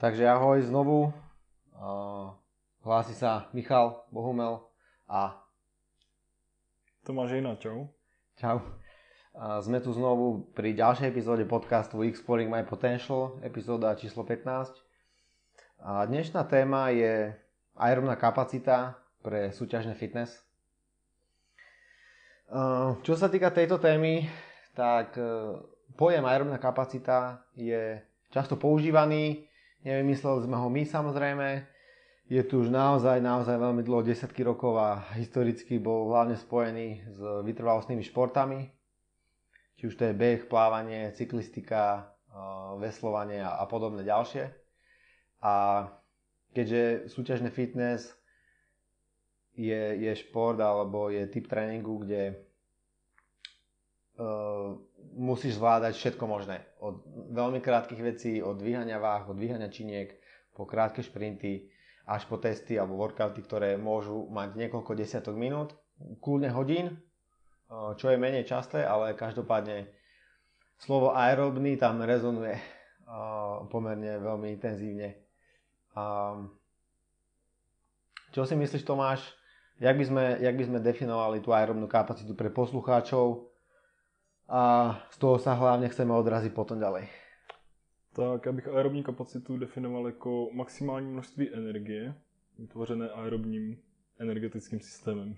Takže ahoj znovu. Hlási sa Michal Bohumel a Tomáš Hejna, čau. Čau. Sme tu znovu pri ďalšej epizóde podcastu Exploring My Potential, epizóda číslo 15. A dnešná téma je aerobná kapacita pre súťažný fitness. Čo sa týka tejto témy, tak pojem aerobná kapacita je často používaný. Nevymysleli sme ho my, samozrejme. Je tu už naozaj veľmi dlho, desiatky rokov a historicky bol hlavne spojený s vytrvalostnými športami. Či už to je beh, plávanie, cyklistika, veslovanie a podobné ďalšie. A keďže súťažný fitness je šport alebo je typ tréningu, kde musíš zvládať všetko možné. Od veľmi krátkych vecí, od dvíhania váh, od dvíhania činiek, po krátke šprinty, až po testy alebo workouty, ktoré môžu mať niekoľko desiatok minút, kľudne hodín, čo je menej časté, ale každopádne slovo aerobný tam rezonuje pomerne veľmi intenzívne. Čo si myslíš, Tomáš, jak by sme definovali tú aerobnú kapacitu pre poslucháčov a z toho sa hlavne chceme odraziť potom ďalej? Tak, já bych aerobní kapacitu definoval jako maximální množství energie, vytvořené aerobním energetickým systémem.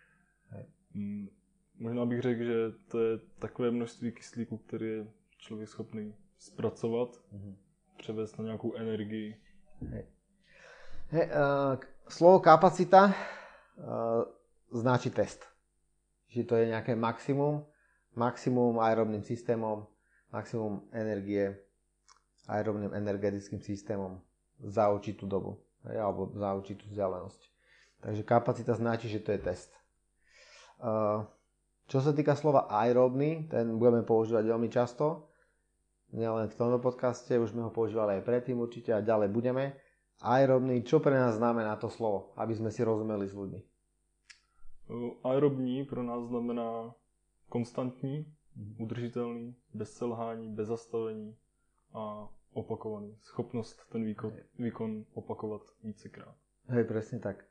Možná bych řekl, že to je takové množství kyslíku, který je člověk schopný zpracovat, převést na nějakou energii. Slovo kapacita značí test. Že to je nejaké maximum aerobným systémom, maximum energie aerobným energetickým systémom za určitú dobu, alebo za určitú vzdialenosť. Takže kapacita značí, že to je test. Čo sa týka slova aerobný, ten budeme používať veľmi často. Nielen v tomto podcaste, už sme ho používali aj predtým určite a ďalej budeme. Aerobný, čo pre nás znamená to slovo, aby sme si rozumeli s ľuďmi? Aerobní pro nás znamená konstantní, udržitelný, bez selhání, bez zastavení a opakovaný. Schopnost ten výkon opakovat vícekrát. Hej, presne tak.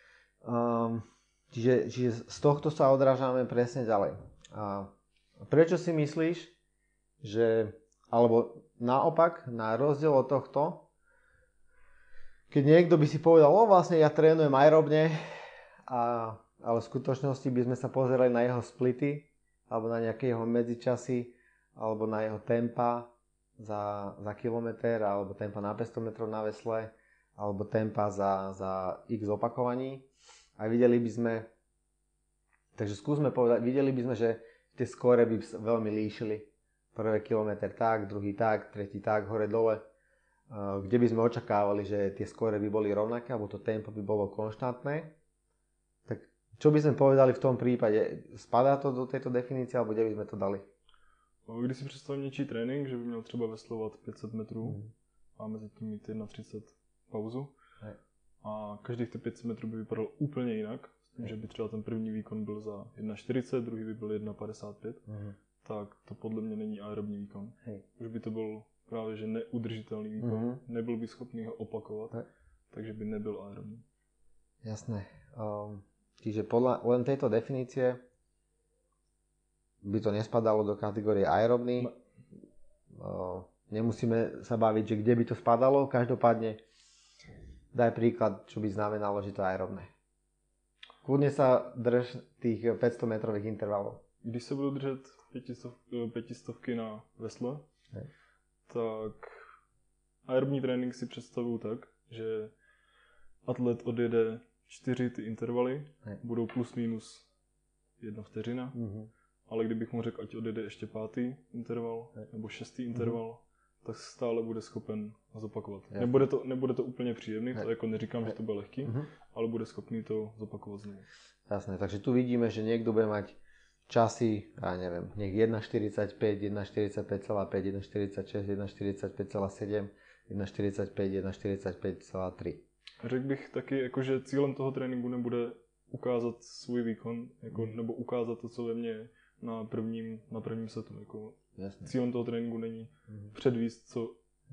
Čiže z tohto sa odrážame presne ďalej. Prečo si myslíš, že, alebo naopak, na rozdiel od tohto, keď niekto by si povedal, vlastne ja trénujem aerobne, ale v skutočnosti by sme sa pozerali na jeho splity, alebo na nejaké jeho medzičasy, alebo na jeho tempa za kilometr, alebo tempa na 500 metrov na vesle, alebo tempa za x opakovaní. A videli by sme, takže skúsme povedať, videli by sme, že tie skóre by veľmi líšili. Prvý kilometr tak, druhý tak, tretí tak, hore dole. Kde by sme očakávali, že tie skóre by boli rovnaké, alebo to tempo by bolo konštantné. Tak čo by sme povedali v tom prípade? Spadá to do tejto definície, alebo kde by sme to dali? Když si představím něčí trénink, že by měl třeba veslovat 500 metrů a mezi tím mít 1,30 pauzu a každých těch 500 metrů by vypadal úplně jinak, s tím, že by třeba ten první výkon byl za 1,40, druhý by byl 1,55, tak to podle mě není aerobní výkon. Už by to byl právě že neudržitelný výkon, nebyl by schopný ho opakovat, takže by nebyl aerobní. Jasné. Čiže podľa len tejto definície by to nespadalo do kategórie aerobný. Nemusíme sa baviť, že kde by to spadalo. Každopádne daj príklad, čo by znamenalo, že to je aerobné. Kľudne sa drž tých 500 metrových intervalov. Když se budu držet 500 na vesle, tak aerobní trénink si představuju tak, že atlet odjede 4 ty intervaly, budou plus minus 1 vteřina, ale kdybych mu řekl, ať odjede ještě 5. interval nebo 6. interval, tak stále bude schopen zopakovat. Nebude to úplně příjemný, to jako neříkám, že to bude lehký, ale bude schopný to zopakovat znovu. Jasné, takže tu vidíme, že niekto bude mať časy, ja neviem, nech 1,45, 1,45,5, 1,46, 1,45,7, 1,45, 1,45,3. Řekl bych taky, jako, že cílem toho tréninku nebude ukázat svůj výkon, jako, nebo ukázat to, co ve mně je na prvním setu. Jako, cílem toho tréninku není předvíst,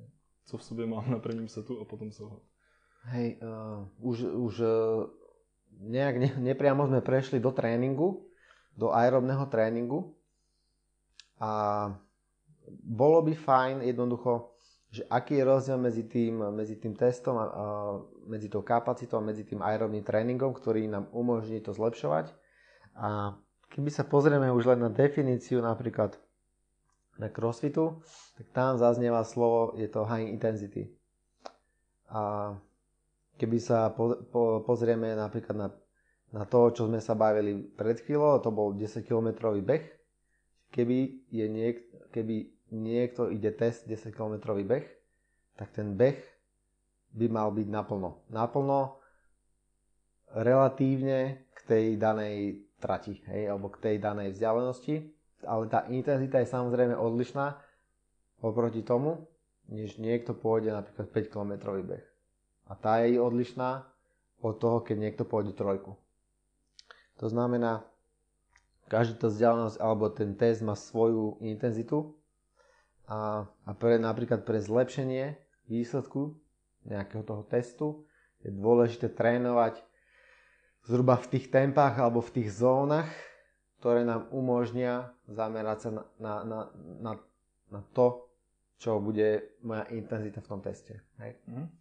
co v sobě mám na prvním setu a potom selhat. Hej, už nejak nepriamo sme prešli do tréningu, do aerobného tréningu a bolo by fajn jednoducho, že aký je rozdiel medzi tým testom a medzi tou kapacitou a medzi tým aerobným tréningom, ktorý nám umožní to zlepšovať. A keby sa pozrieme už len na definíciu napríklad na crossfitu, tak tam zaznieva slovo, je to high intensity. A keby sa pozrieme napríklad na to, čo sme sa bavili pred chvíľou, to bol 10-kilometrový beh. Keby niekto ide test 10-kilometrový beh, tak ten beh by mal byť naplno. Naplno relatívne k tej danej trati, hej, alebo k tej danej vzdialenosti. Ale tá intenzita je samozrejme odlišná oproti tomu, než niekto pôjde napríklad 5-kilometrový beh. A tá je odlišná od toho, keď niekto pôjde trojku. To znamená, každý to vzdialenosť alebo ten test má svoju intenzitu a napríklad pre zlepšenie výsledku nejakého toho testu je dôležité trénovať zhruba v tých tempách alebo v tých zónach, ktoré nám umožnia zamerať sa na to, čo bude moja intenzita v tom teste. Hej?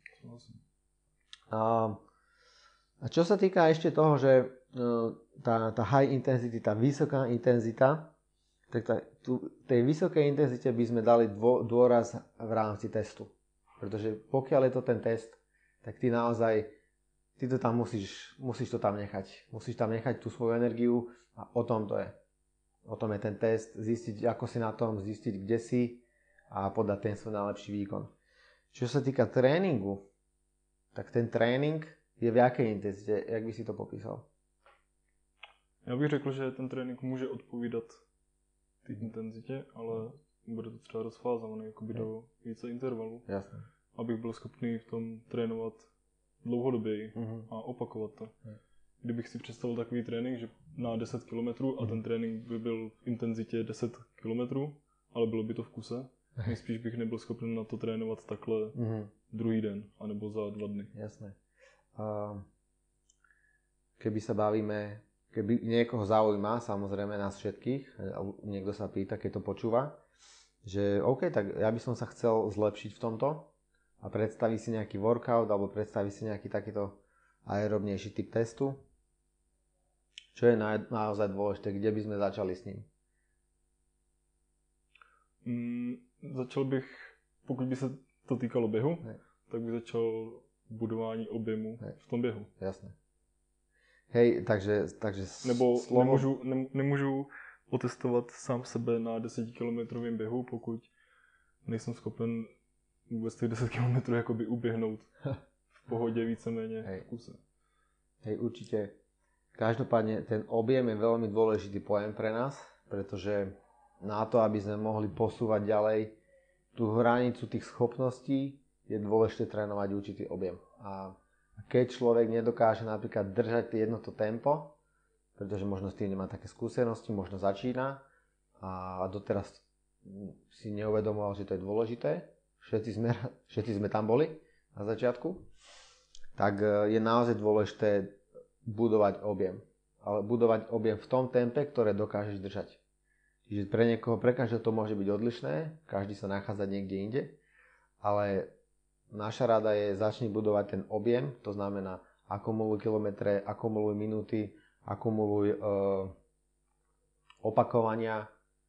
A čo sa týka ešte toho, že tá high intensity, tá vysoká intenzita, tak tej vysokej intenzite by sme dali dôraz v rámci testu. Pretože pokiaľ je to ten test, tak ty to tam musíš to tam nechať. Musíš tam nechať tú svoju energiu a o tom to je. O tom je ten test, zistiť ako si na tom, zistiť kde si a podať ten svoj najlepší výkon. Čo sa týka tréningu, tak ten trénink je v jakej intenzite? Jak by si to popísal? Já bych řekl, že ten trénink může odpovídat té intenzitě, ale bude to třeba rozfázované jakoby do více intervalů. Jasne. Abych byl schopný v tom trénovat dlouhodoběji a opakovat to. Kdybych si představil takový trénink, že na 10 km a ten trénink by byl v intenzitě 10 km, ale bylo by to v kuse, nejspíš bych nebyl schopný na to trénovat takhle druhý den, anebo za 2 dny. Jasné. Keby sa bavíme, keby niekoho zaujíma, samozrejme nás všetkých, niekto sa pýta, keď to počúva, že OK, tak ja by som sa chcel zlepšiť v tomto a predstaví si nejaký workout alebo predstaví si nejaký takýto aerobnejší typ testu. Čo je naozaj dôležité, kde by sme začali s ním? Začal bych, pokud by se to týkalo běhu, tak bych začal budování objemu v tom běhu. Jasné. Hej, takže nebo nemůžu otestovat sám sebe na 10-kilometrovém běhu, pokud nejsem schopen vůbec těch 10 km jakoby uběhnout v pohodě víceméně v kuse. Hej, určite. Každopádne ten objem je veľmi dôležitý pojem pre nás, pretože na to, aby sme mohli posúvať ďalej tú hranicu tých schopností, je dôležité trénovať určitý objem. A keď človek nedokáže napríklad držať jedno to tempo, pretože možno s tým nemá také skúsenosti, možno začína a doteraz si neuvedomoval, že to je dôležité, všetci sme tam boli na začiatku, tak je naozaj dôležité budovať objem. Ale budovať objem v tom tempe, ktoré dokážeš držať. Čiže pre každého to môže byť odlišné, každý sa nachádza niekde inde, ale naša rada je začni budovať ten objem, to znamená akumuluj kilometre, akumuluj minúty, akumuluj opakovania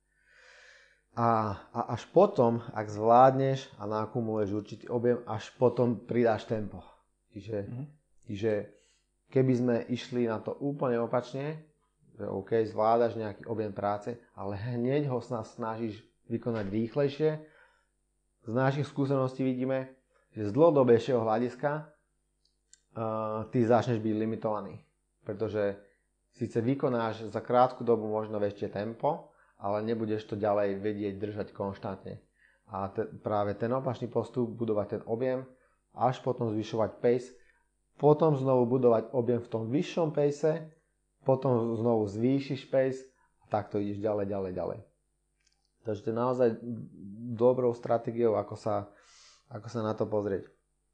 a až potom, ak zvládneš a nakumuluješ určitý objem, až potom pridáš tempo. Čiže keby sme išli na to úplne opačne, že OK, zvládaš nejaký objem práce, ale hneď ho snažíš vykonať rýchlejšie, z našich skúseností vidíme, že z dlhodobejšieho hľadiska ty začneš byť limitovaný. Pretože síce vykonáš za krátku dobu možno väčšie tempo, ale nebudeš to ďalej vedieť držať konštantne. A práve ten opačný postup, budovať ten objem, až potom zvyšovať pace, potom znovu budovať objem v tom vyššom pace, potom znovu zvýšiš pace a takto ideš ďalej. Takže to je naozaj dobrou stratégiou, ako Ako sa na to pozrieť?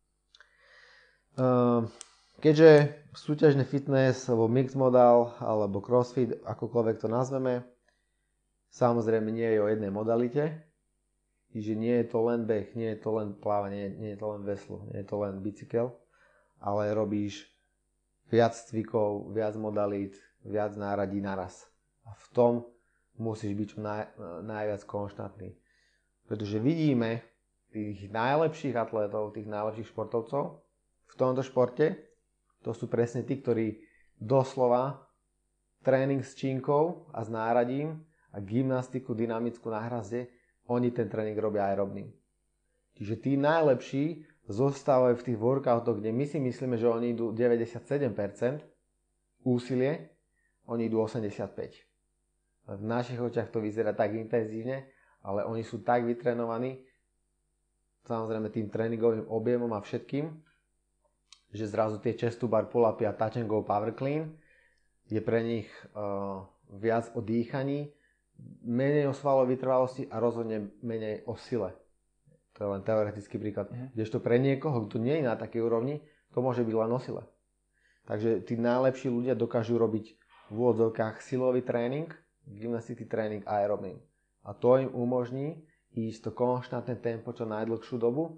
Keďže súťažný fitness, alebo mixed modal, alebo crossfit, akokoľvek to nazveme, samozrejme nie je o jednej modalite, čiže nie je to len beh, nie je to len plávanie, nie je to len veslo, nie je to len bicykel, ale robíš viac cvikov, viac modalít, viac náradí naraz. A v tom musíš byť čo najviac konštantný. Pretože vidíme tých najlepších atlétov, tých najlepších športovcov v tomto športe, to sú presne tí, ktorí doslova tréning s činkou a s náradím a gymnastiku dynamickú na hrazde, oni ten tréning robia aerobným. Čiže tí najlepší zostávajú v tých workoutoch, kde my si myslíme, že oni idú 97% úsilie, oni idú 85%. V našich očiach to vyzerá tak intenzívne, ale oni sú tak vytrenovaní, samozrejme tým tréningovým objemom a všetkým, že zrazu tie chest to bar pull-upy a touch and go power clean je pre nich viac o dýchaní, menej o svalovej vytrvalosti a rozhodne menej o sile. To je len teoretický príklad. Kdežto pre niekoho, kto nie je na takej úrovni, to môže byť len o sile. Takže tí najlepší ľudia dokážu robiť v úvodzovkách silový tréning, gymnastický tréning aerobným. A to im umožní ísť to konštantné tempo čo najdlhšiu dobu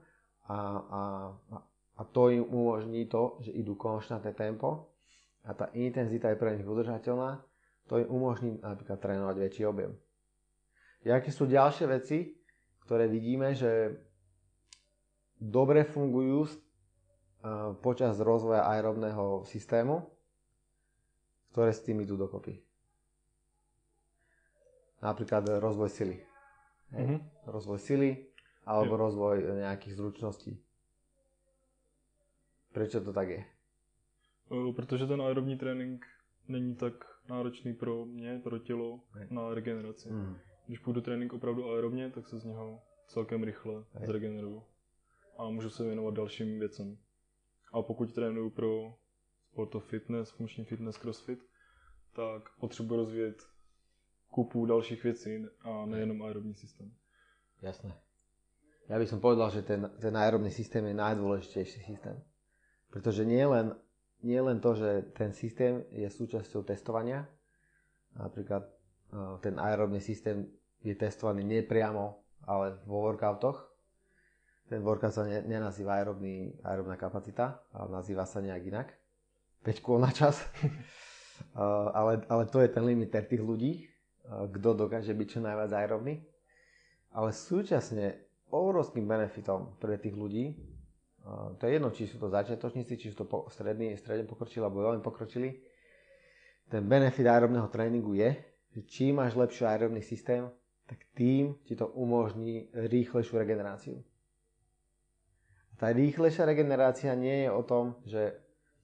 a to im umožní to, že idú konštantné tempo a tá intenzita je pre nich udržateľná, to im umožní napríklad trénovať väčší objem. Aké sú ďalšie veci, ktoré vidíme, že dobre fungujú počas rozvoja aerobného systému, ktoré s tým idú dokopy. Napríklad rozvoj sily. Rozvoj sily alebo rozvoj nejakých zručností. Prečo to tak je? Protože ten aerobní trénink není tak náročný pro mě, pro tělo, na regeneraci. Když půjdu trénink opravdu aerobně, tak se z něho celkem rychle zregeneruju. A můžu se věnovat dalším věcem. A pokud trénuju pro sportov fitness, funkční fitness, crossfit, tak potřebuji rozvíjet kupu dalších věcí a nejenom aerobní systém. Jasné. Ja by som povedal, že ten aerobný systém je najdôležitejší systém. Pretože nie len to, že ten systém je súčasťou testovania. Napríklad ten aerobný systém je testovaný nepriamo, ale vo workoutoch. Ten workout sa nenazýva aerobná kapacita, ale nazýva sa nejak inak. 5 kôl na čas. ale to je ten limiter tých ľudí, kto dokáže byť čo najviac aerobný. Ale súčasne obrovským benefitom pre tých ľudí, to je jedno, či sú to začiatočníci, či sú to stredne pokročili alebo veľmi pokročili, ten benefit aerobného tréningu je, že čím máš lepší aerobný systém, tak tým ti to umožní rýchlejšiu regeneráciu. Tá rýchlejšia regenerácia nie je o tom, že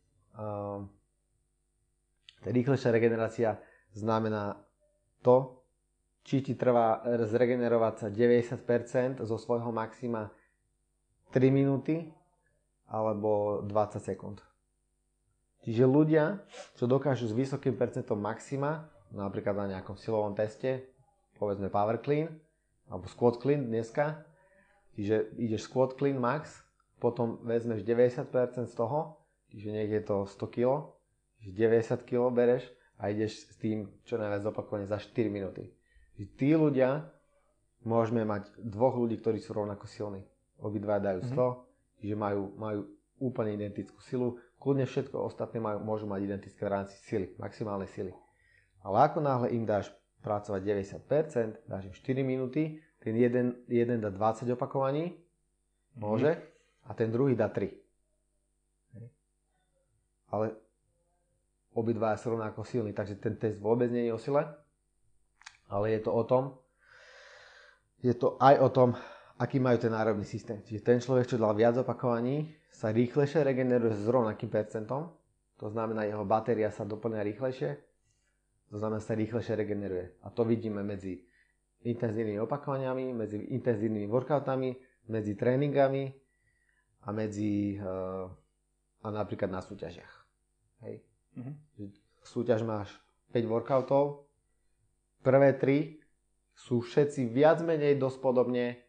tá rýchlejšia regenerácia znamená to, či ti trvá zregenerovať sa 90% zo svojho maxima 3 minúty alebo 20 sekúnd. Čiže ľudia, čo dokážu s vysokým percentom maxima, napríklad na nejakom silovom teste, povedzme power clean alebo squat clean dneska, čiže ideš squat clean max, potom vezmeš 90% z toho, čiže nech je to 100 kg, 90 kg bereš a ideš s tým čo najviac opakovaní za 4 minúty. Tí ľudia, môžeme mať dvoch ľudí, ktorí sú rovnako silní. Obidva dajú 100, čiže majú úplne identickú silu. Kľudne všetko ostatné môžu mať identické v rámci sily, maximálnej sily. Ale ako náhle im dáš pracovať 90%, dáš im 4 minúty, ten jeden dá 20 opakovaní, môže, a ten druhý dá 3. Ale obidva sú rovnako silní, takže ten test vôbec nie je o sile, ale je to aj o tom, aký majú ten aerobný systém. Čiže ten človek, čo dal viac opakovaní, sa rýchlejšie regeneruje s rovnakým percentom, to znamená, jeho batéria sa doplňa rýchlejšie, to znamená, sa rýchlejšie regeneruje. A to vidíme medzi intenzívnymi opakovaniami, medzi intenzívnymi workoutami, medzi tréningami a napríklad na súťažiach. Hej. Súťaž máš 5 workoutov, prvé 3 sú všetci viac menej dosť podobne,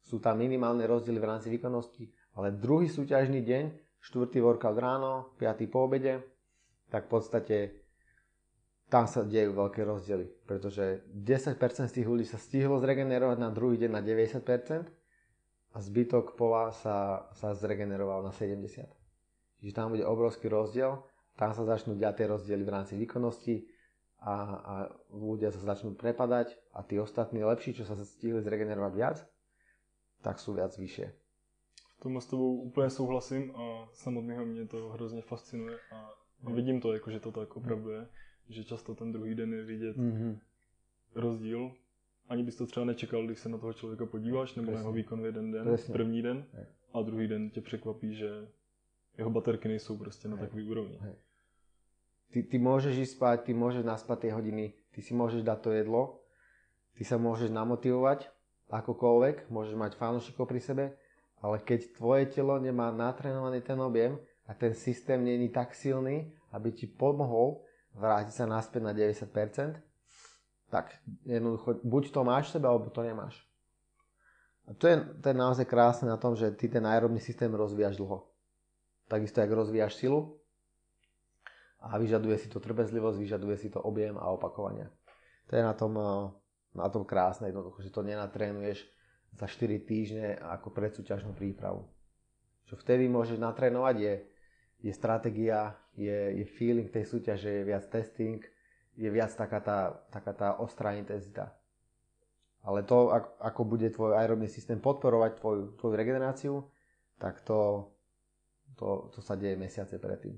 sú tam minimálne rozdiely v rámci výkonnosti, ale druhý súťažný deň, 4. workout ráno, 5. po obede, tak v podstate tam sa dejú veľké rozdiely, pretože 10% z tých ľudí sa stihlo zregenerovať na druhý deň na 90% a zbytok pola sa zregeneroval na 70%. Čiže tam bude obrovský rozdiel, tam sa začnú diať tie rozdiely v rámci výkonnosti a ľudia sa začnú prepadať a tí ostatní lepší, čo sa stihli zregenerovať viac, tak sú viac vyššie. V tom s tebou úplně souhlasím a samotného mě to hrozně fascinuje a vidím to, jako, že to tak opravdu je, že často ten druhý den je vidět rozdíl. Ani bys to třeba nečekal, když se na toho člověka podíváš, nebo na jeho výkon v jeden den, první den, a druhý den tě překvapí, že jeho baterky nejsou prostě na takový úrovni. Ty môžeš ísť spať, ty môžeš naspať tie hodiny, ty si môžeš dať to jedlo, ty sa môžeš namotivovať akokoľvek, môžeš mať fanúšikov pri sebe, ale keď tvoje telo nemá natrénovaný ten objem a ten systém nie je tak silný, aby ti pomohol vrátiť sa naspäť na 90%, tak jednoducho buď to máš v sebe, alebo to nemáš. A to je naozaj krásne na tom, že ty ten aerobný systém rozvíjaš dlho. Takisto, jak rozvíjaš silu a vyžaduje si to trpezlivosť, vyžaduje si to objem a opakovania. To je na tom krásne jednoducho, že to nenatrénuješ za 4 týždne ako predsúťažnú prípravu. Čo vtedy môžeš natrénovať je stratégia, je feeling tej súťaže, je viac testing, je viac taká tá ostrá intenzita. Ale to, ako bude tvoj aerobný systém podporovať tvoju regeneráciu, tak to sa deje mesiace predtým.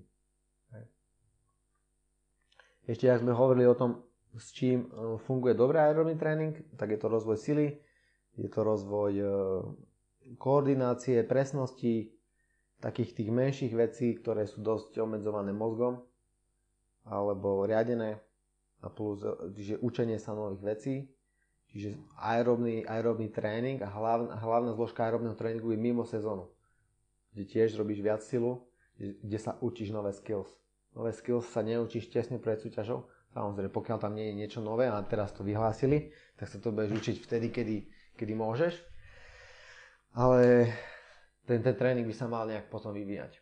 Ešte, ak sme hovorili o tom, s čím funguje dobrý aerobný tréning, tak je to rozvoj sily, je to rozvoj koordinácie, presnosti, takých tých menších vecí, ktoré sú dosť obmedzované mozgom alebo riadené, a plus že učenie sa nových vecí. Čiže aerobný tréning a hlavná zložka aerobného tréningu je mimo sezónu, kde tiež robíš viac silu, kde sa učíš nové skills. Nové skills sa neučíš tesne pred súťažou. Samozrejme, pokiaľ tam nie je niečo nové a teraz to vyhlásili, tak sa to budeš učiť vtedy, kedy môžeš. Ale ten tréning by sa mal nejak potom vyvíjať.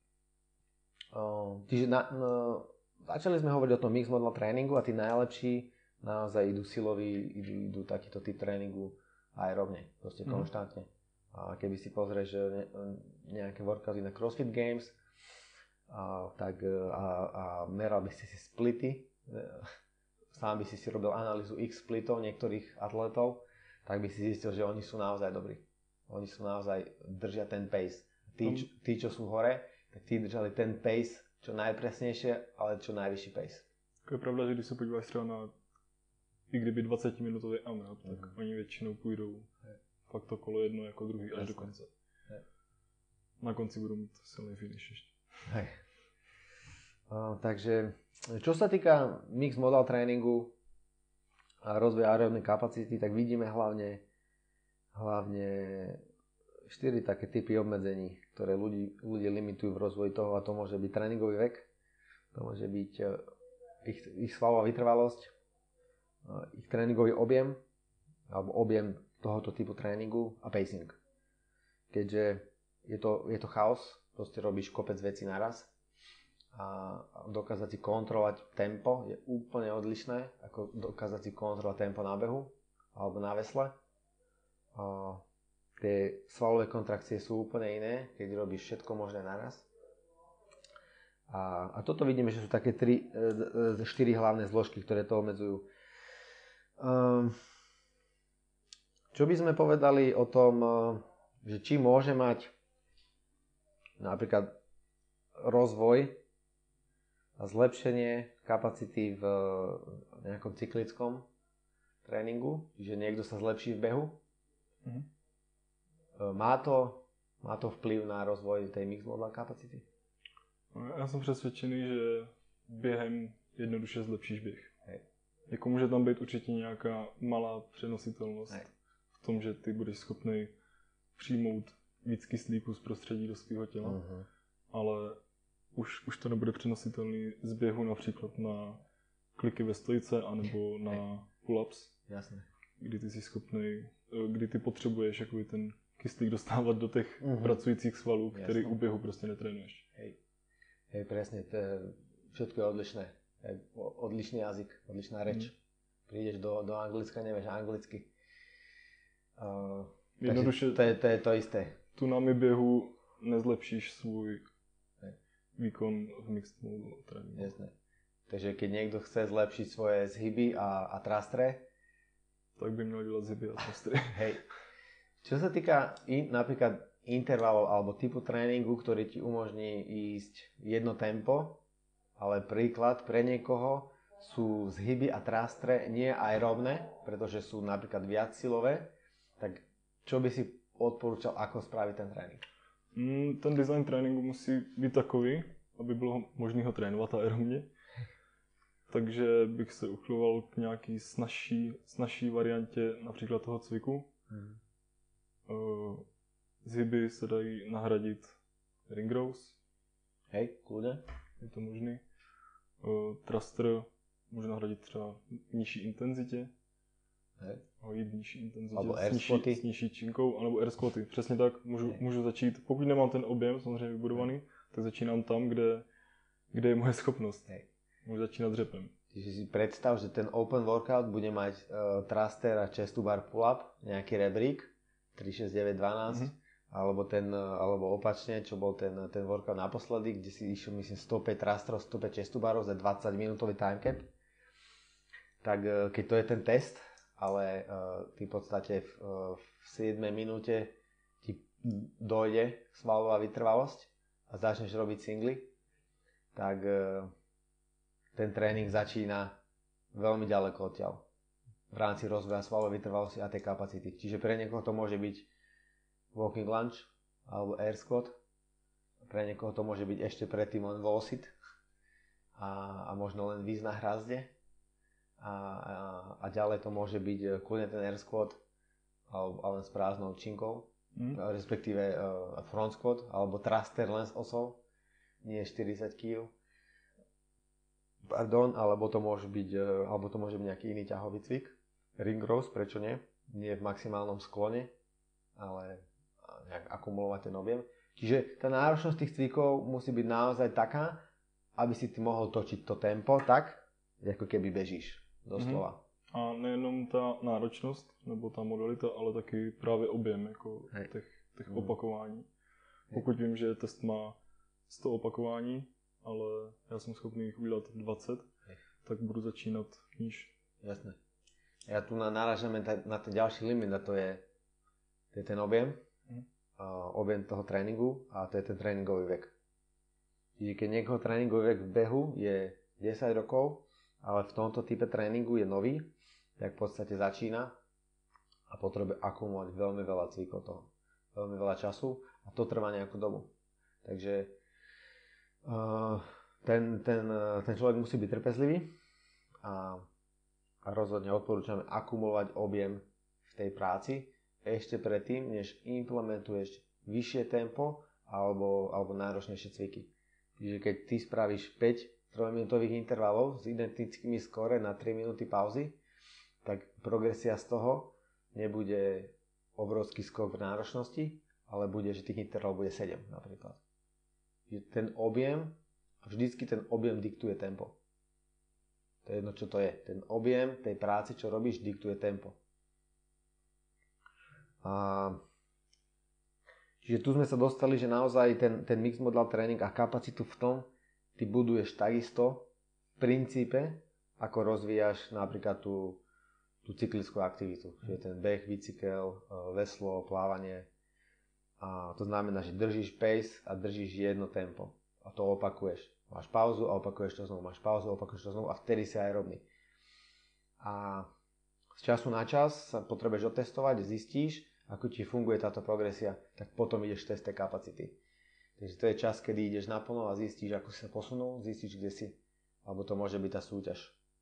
Čiže začali sme hovoriť o tom mixed model tréningu a tí najlepší naozaj idú silový, idú takýto typ tréningu aerobne, proste konštantne. A keby si pozrieš nejaké workouty na CrossFit Games, tak meral by si splity, sám by si robil analýzu X splitov niektorých atletov, tak by si zistil, že oni sú naozaj dobrí. Oni sú naozaj, držia ten pace. Tí, čo sú hore, tak tí držali ten pace čo najpresnejšie, ale čo najvyšší pace. To je pravda, že když se podíváš třeba na i kdyby 20-minutový AMRAP, tak oni většinou půjdou fakt to kolo jedno jako druhý až do konce. Na konci budou mít silný finish ještě. Takže čo sa týka mixed model tréningu a rozvoja aerobnej kapacity, tak vidíme hlavne 4 také typy obmedzení, ktoré ľudí limitujú v rozvoji toho, a to môže byť tréningový vek, to môže byť ich svalová vytrvalosť, ich tréningový objem alebo objem tohoto typu tréningu a pacing. Keďže je to chaos, proste robíš kopec vecí naraz a dokázať si kontrolovať tempo je úplne odlišné ako dokázať si kontrolovať tempo na behu alebo na vesle. Tie svalové kontrakcie sú úplne iné, keď robíš všetko možné naraz. A toto vidíme, že sú také 4 hlavné zložky, ktoré to obmedzujú. Čo by sme povedali o tom, že či môže mať napríklad rozvoj a zlepšenie kapacity v nejakom cyklickom tréningu, že niekto sa zlepší v behu. Má to vplyv na rozvoj tej mixed model kapacity? Já jsem přesvědčený, že během jednoduše zlepšíš běh. Jako může tam být určitě nějaká malá přenositelnost v tom, že ty budeš schopný přijmout víc kyslíku z prostředí do svého těla, ale už to nebude přenositelný z běhu například na kliky ve stojice anebo na pull-ups. Jasné. kdy ty jsi schopný, kdy ty potřebuješ jakoby ten kyslík dostávat do těch pracujících svalů, který u běhu prostě netrénuješ. Hej, presne, všetko je odlišné. Odlišný jazyk, odlišná reč. Prídeš do Anglicka, nevieš anglicky. Jednoduše, to je to isté. Tu námi běhu nezlepšíš svůj výkon v mixed modu tréninku. Jasné. Takže keď niekto chce zlepšiť svoje zhyby a trastre, tak by měl dělat zhyby a trastry. Hej. Čo sa týka napríklad intervalov alebo typu tréningu, ktorý ti umožní ísť jedno tempo, ale príklad pre niekoho sú zhyby a trastre nie aeróbne, pretože sú napríklad viac silové, tak čo by si odporúčal, ako spraviť ten trénink? Ten design tréninku musí být takový, aby bylo možné ho trénovat aerobně. Takže bych se uchyloval k nějaký snazší variantě například toho cviku. Zhyby se dají nahradit ring rows. Hej, kľudne. Je to možný. Thruster může nahradit třeba v nižší intenzitě. Hej. Jít v nižší intenzitě alebo s nižší činkou, anebo air squaty. Přesně tak, můžu začít, pokud nemám ten objem samozřejmě vybudovaný, tak začínám tam, kde je moje schopnost. Hej. Můžu začínat dřepem. Čiže si predstav, že ten open workout bude mať thruster a chest to bar pull-up, nejaký rebrík, 3, 6, 9, 12, alebo opačne, čo bol ten workout naposledy, kde si išiel, myslím, 105 thrusterov, 105 chest to barov za 20 minútový time cap. Tak keď to je ten test, ale ty v podstate v 7 minúte ti dojde svalová vytrvalosť a začneš robiť singly, tak ten tréning začína veľmi ďaleko odtiaľ v rámci rozvoja svalovej vytrvalosti a tej kapacity. Čiže pre niekoho to môže byť walking lunge alebo air squat, pre niekoho to môže byť ešte predtým len wall sit a možno len výz na hrazde a ďalej to môže byť kľudne ten air squat alebo len s prázdnou činkou, respektíve front squat alebo thruster len s osou, nie 40 kg. Alebo to môže byť nejaký iný ťahový cvik. Ring rows, prečo nie? Nie v maximálnom sklone, ale nejak akumulovať ten objem. Čiže tá náročnosť tých cvikov musí byť naozaj taká, aby si ty mohol točiť to tempo tak, ako keby bežíš, doslova. A nejenom ta náročnost, nebo ta modalita, ale taky právě objem jako těch opakování. Pokud vím, že test má 100 opakování, ale já jsem schopný jich udělat 20, tak budu začínat níž. Jasné. Ja tu narážame na ten ďalší limit a to je ten objem, objem toho tréningu a to je ten tréningový vek. Čiže keď niekoho tréningový vek v behu je 10 rokov, ale v tomto type tréningu je nový, tak v podstate začína a potrebuje akumulovať veľmi veľa cvikov toho. Veľmi veľa času a to trvá nejakú dobu. Takže ten človek musí byť trpezlivý a rozhodne odporúčame akumulovať objem v tej práci ešte predtým, než implementuješ vyššie tempo alebo náročnejšie cviky. Čiže keď ty spravíš 5 3-minútových intervalov s identickými skóre na 3 minúty pauzy, tak progresia z toho nebude obrovský skok v náročnosti, ale bude, že tých intervalov bude 7 napríklad. Ten objem, vždycky ten objem diktuje tempo. To je jedno, čo to je. Ten objem tej práce, čo robíš, diktuje tempo. Čiže tu sme sa dostali, že naozaj ten mixed modal tréning a kapacitu v tom ty buduješ takisto v princípe, ako rozvíjaš napríklad tú cyklickú aktivitu. Čiže ten beh, bicykel, veslo, plávanie. A to znamená, že držíš pace a držíš jedno tempo. A to opakuješ. Máš pauzu a opakuješ to znovu. Máš pauzu a opakuješ to znovu a vtedy si aerobný. A z času na čas sa potrebuješ otestovať, zistíš, ako ti funguje táto progresia, tak potom ideš test tej kapacity. Takže to je čas, kedy ideš naplno a zistíš, ako si sa posunul, zistíš, kde si. Alebo to môže byť tá súťaž.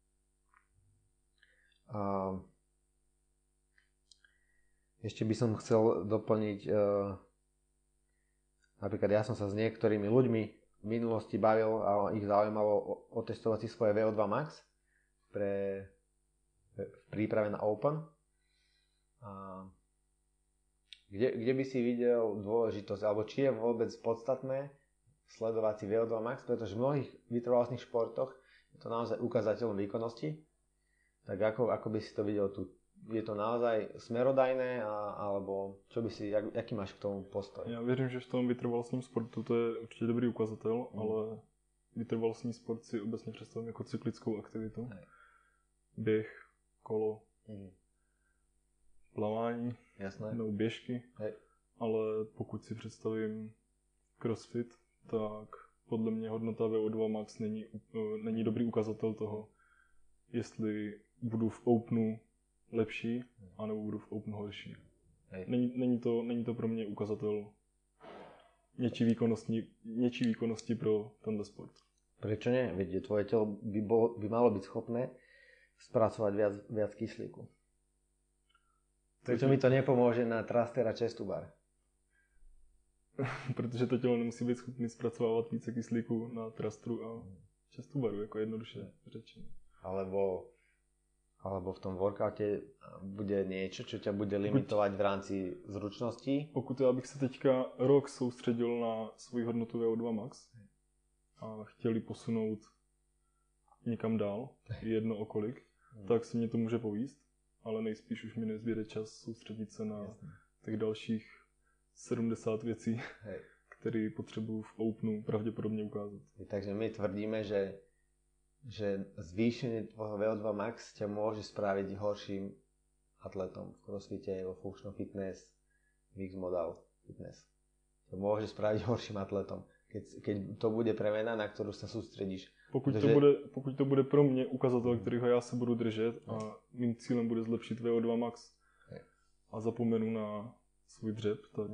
Ešte by som chcel doplniť, napríklad ja som sa s niektorými ľuďmi v minulosti bavil a ich zaujímalo otestovať si svoje VO2 max v príprave na Open. Kde by si videl dôležitosť, alebo či je vôbec podstatné sledovať si VO2 max, pretože v mnohých vytrvalostných športoch je to naozaj ukazateľom výkonnosti. Tak ako by si to videl tu? Je to naozaj smerodajné, alebo čo by si, jaký máš k tomu postoj? Já věřím, že v tom vytrvalostním sportu to je určitě dobrý ukazatel, ale vytrvalostní sport si obecně představím jako cyklickou aktivitu. Běh, kolo, plavání, nebo běžky. Ale pokud si představím crossfit, tak podle mě hodnota VO2 max není dobrý ukazatel toho, jestli budu v openu lepší, anebo budu v openu horší. Není to pro mě ukazatel něčí výkonnosti pro tento sport. Prečo nie? Veď tvoje telo by malo byť schopné spracovať viac kyslíku. Prečo mi to nepomôže na thruster a chest to bar? Protože to tělo nemusí být schopný zpracovávat více kyslíku na thrusteru a chest to baru, jako jednoduše řečeno. Alebo v tom workoute bude niečo, čo ťa bude limitovať v rámci zručností? Pokud já bych se teďka rok soustředil na svoji hodnotu VO2 max a chtěli posunout někam dál, jedno okolik, tak se mě to může povíst, ale nejspíš už mi nezběde čas soustředit se na těch dalších 70 věcí, které potřebuju v openu pravděpodobně ukázat. Takže my tvrdíme, že zvýšenie tvojho VO2 max ťa môže spraviť horším atletom v crossfite, vo functional fitness, mixed modal fitness. To môže spraviť horším atletom, keď to bude premena, na ktorú sa sústredíš. Pokud to bude pro mě ukazatel, kterýho já se budu držet a mým cílem bude zlepšit VO2 max a zapomenu na svůj dřep, tak...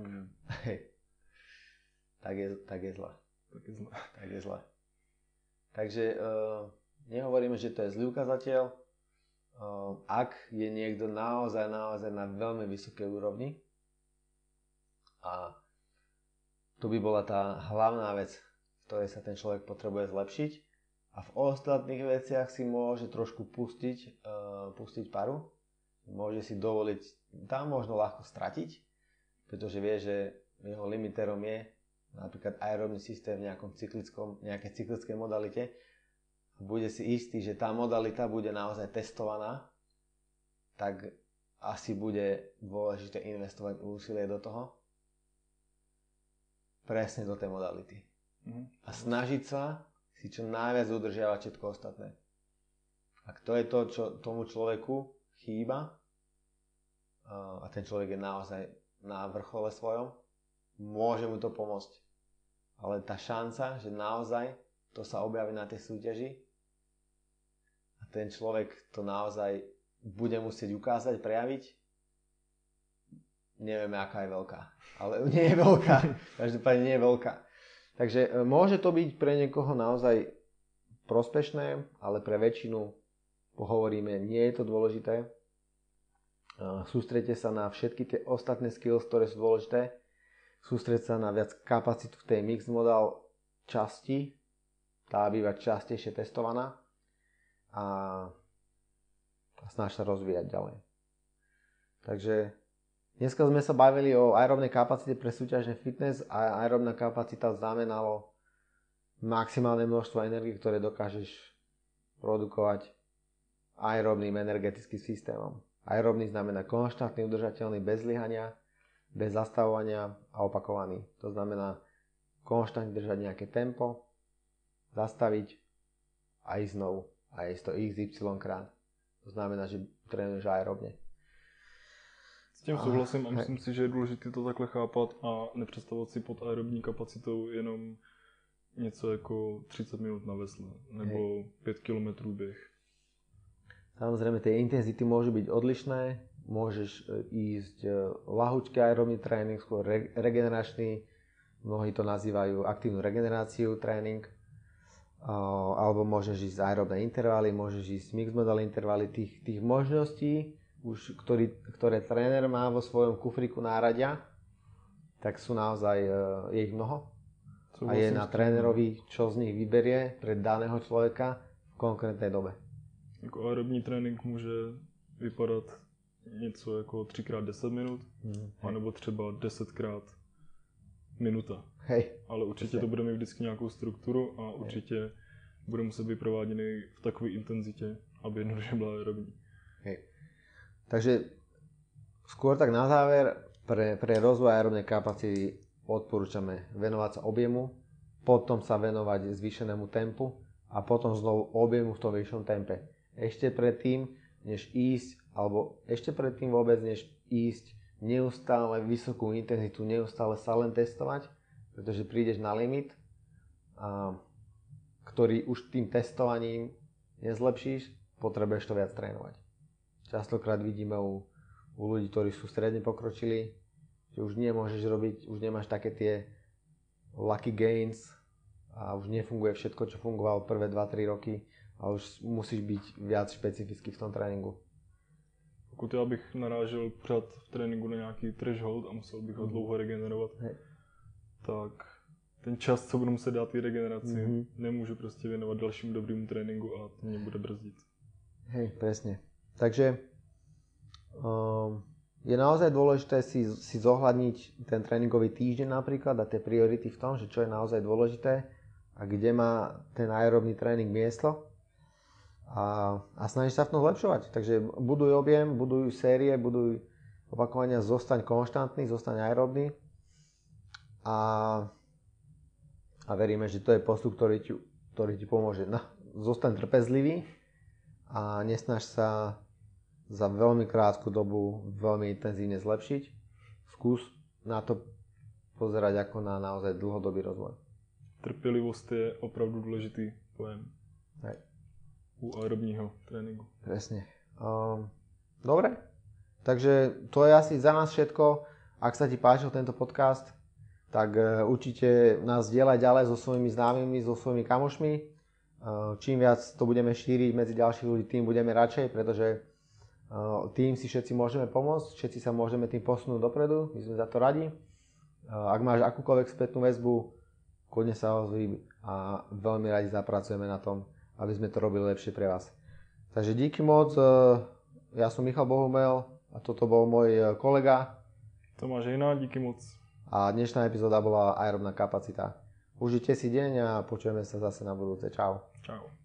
Tak je zle. Takže nehovoríme, že to je zlý ukazateľ. Ak je niekto naozaj na veľmi vysokej úrovni, a to by bola tá hlavná vec, v ktorej sa ten človek potrebuje zlepšiť, a v ostatných veciach si môže trošku pustiť paru, môže si dovoliť tam možno ľahko stratiť, pretože vie, že jeho limiterom je napríklad aerobný systém v nejakej cyklickej modalite. Bude si istý, že tá modalita bude naozaj testovaná, tak asi bude dôležité investovať úsilie do toho. Presne do tej modality. A snažiť sa si čo najviac udržiavať všetko ostatné. Ak to je to, čo tomu človeku chýba, a ten človek je naozaj na vrchole svojom, môže mu to pomôcť. Ale tá šanca, že naozaj to sa objaví na tej súťaži a ten človek to naozaj bude musieť ukázať, prejaviť, nevieme, aká je veľká. Ale nie je veľká. Každopádne nie je veľká. Takže môže to byť pre niekoho naozaj prospešné, ale pre väčšinu pohovoríme, nie je to dôležité. Sústredte sa na všetky tie ostatné skills, ktoré sú dôležité. Sústreť sa na viac kapacitu v tej mixed modal časti, tá býva častejšie testovaná a snaž sa rozvíjať ďalej. Takže dneska sme sa bavili o aerobnej kapacite pre súťažný fitness a aerobná kapacita znamenalo maximálne množstvo energie, ktoré dokážeš produkovať aerobným energetickým systémom. Aerobný znamená konštantný, udržateľný, bez zlyhania, bez zastavovania a opakovaný. To znamená konštantne držať nejaké tempo, zastaviť a ísť znovu. A ísť to XY krát. To znamená, že trénuješ aerobne. S tím souhlasím a myslím si, že je důležité to takhle chápat a nepředstavovat si pod aerobní kapacitou jenom něco jako 30 minút na vesle nebo 5 km běh. Samozrejme, tie intenzity môžu byť odlišné. Môžeš ísť ľahučký aerobný tréning, skôr regeneračný. Mnohí to nazývajú aktívnu regeneráciu tréning. Alebo môžeš ísť aerobné intervaly, môžeš ísť mixed modal intervaly. Tých možností, už, ktoré tréner má vo svojom kufriku náradia, tak sú naozaj, je ich mnoho. A je na trénerovi, čo z nich vyberie pre daného človeka v konkrétnej dobe. Jako aerobní trénink může vypadat něco jako 3x10 minut, anebo třeba 10x minuta. Hej. Ale určitě to bude mít vždycky nějakou strukturu a určitě bude muset být prováděný v takové intenzitě, aby jednoduše byla aerobní. Hej. Takže skôr tak na záver, pre rozvoj aerobnej kapacity odporúčame venovať sa objemu, potom sa venovať zvýšenému tempu a potom znovu objemu v tom vyššom tempe. Ešte predtým, než ísť, alebo ešte predtým vôbec, než ísť neustále vysokú intenzitu, neustále sa len testovať, pretože prídeš na limit, ktorý už tým testovaním nezlepšíš, potrebuješ to viac trénovať. Častokrát vidíme u ľudí, ktorí sú stredne pokročili, že už nemôžeš robiť, už nemáš také tie lucky gains a už nefunguje všetko, čo fungovalo prvé 2-3 roky a už musíš byť viac špecifický v tom tréninku. Pokud já bych narážel pořád v tréninku na nějaký threshold a musel bych ho dlouho regenerovat, tak ten čas, co budu muset dát té regeneraci, nemůžu prostě věnovat dalšímu dobrému tréninku a to mě bude brzdit. Hej, presne. Takže je naozaj dôležité si zohľadniť ten tréningový týždeň napríklad a tie priority v tom, že čo je naozaj dôležité a kde má ten aerobný tréning miesto a snažíš sa v tom zlepšovať. Takže buduj objem, buduj série, buduj opakovania, zostaň konštantný, zostaň aerobný a veríme, že to je postup, ktorý ti pomôže. No, zostaň trpezlivý a nesnaž sa za veľmi krátku dobu veľmi intenzívne zlepšiť. Skús na to pozerať ako na naozaj dlhodobý rozvoj. Trpělivost je opravdu důležitý pojem. Hej. U aerobního tréninku. Presne. Dobre, takže to je asi za nás všetko. Ak sa ti páčil tento podcast, tak určite nás zdieľaj ďalej so svojimi známymi, so svojimi kamošmi. Čím viac to budeme šíriť medzi ďalších ľudí, tým budeme radšej, pretože tým si všetci môžeme pomôcť, všetci sa môžeme tým posunúť dopredu, my sme za to radi. Ak máš akúkoľvek spätnú väzbu, kľudne sa ozví a veľmi radi zapracujeme na tom, aby sme to robili lepšie pre vás. Takže díky moc, ja som Michal Bohumel a toto bol môj kolega. Tomáš Hejna, díky moc. A dnešná epizóda bola aerobná kapacita. Užite si deň a počujeme sa zase na budúce. Čau. Čau.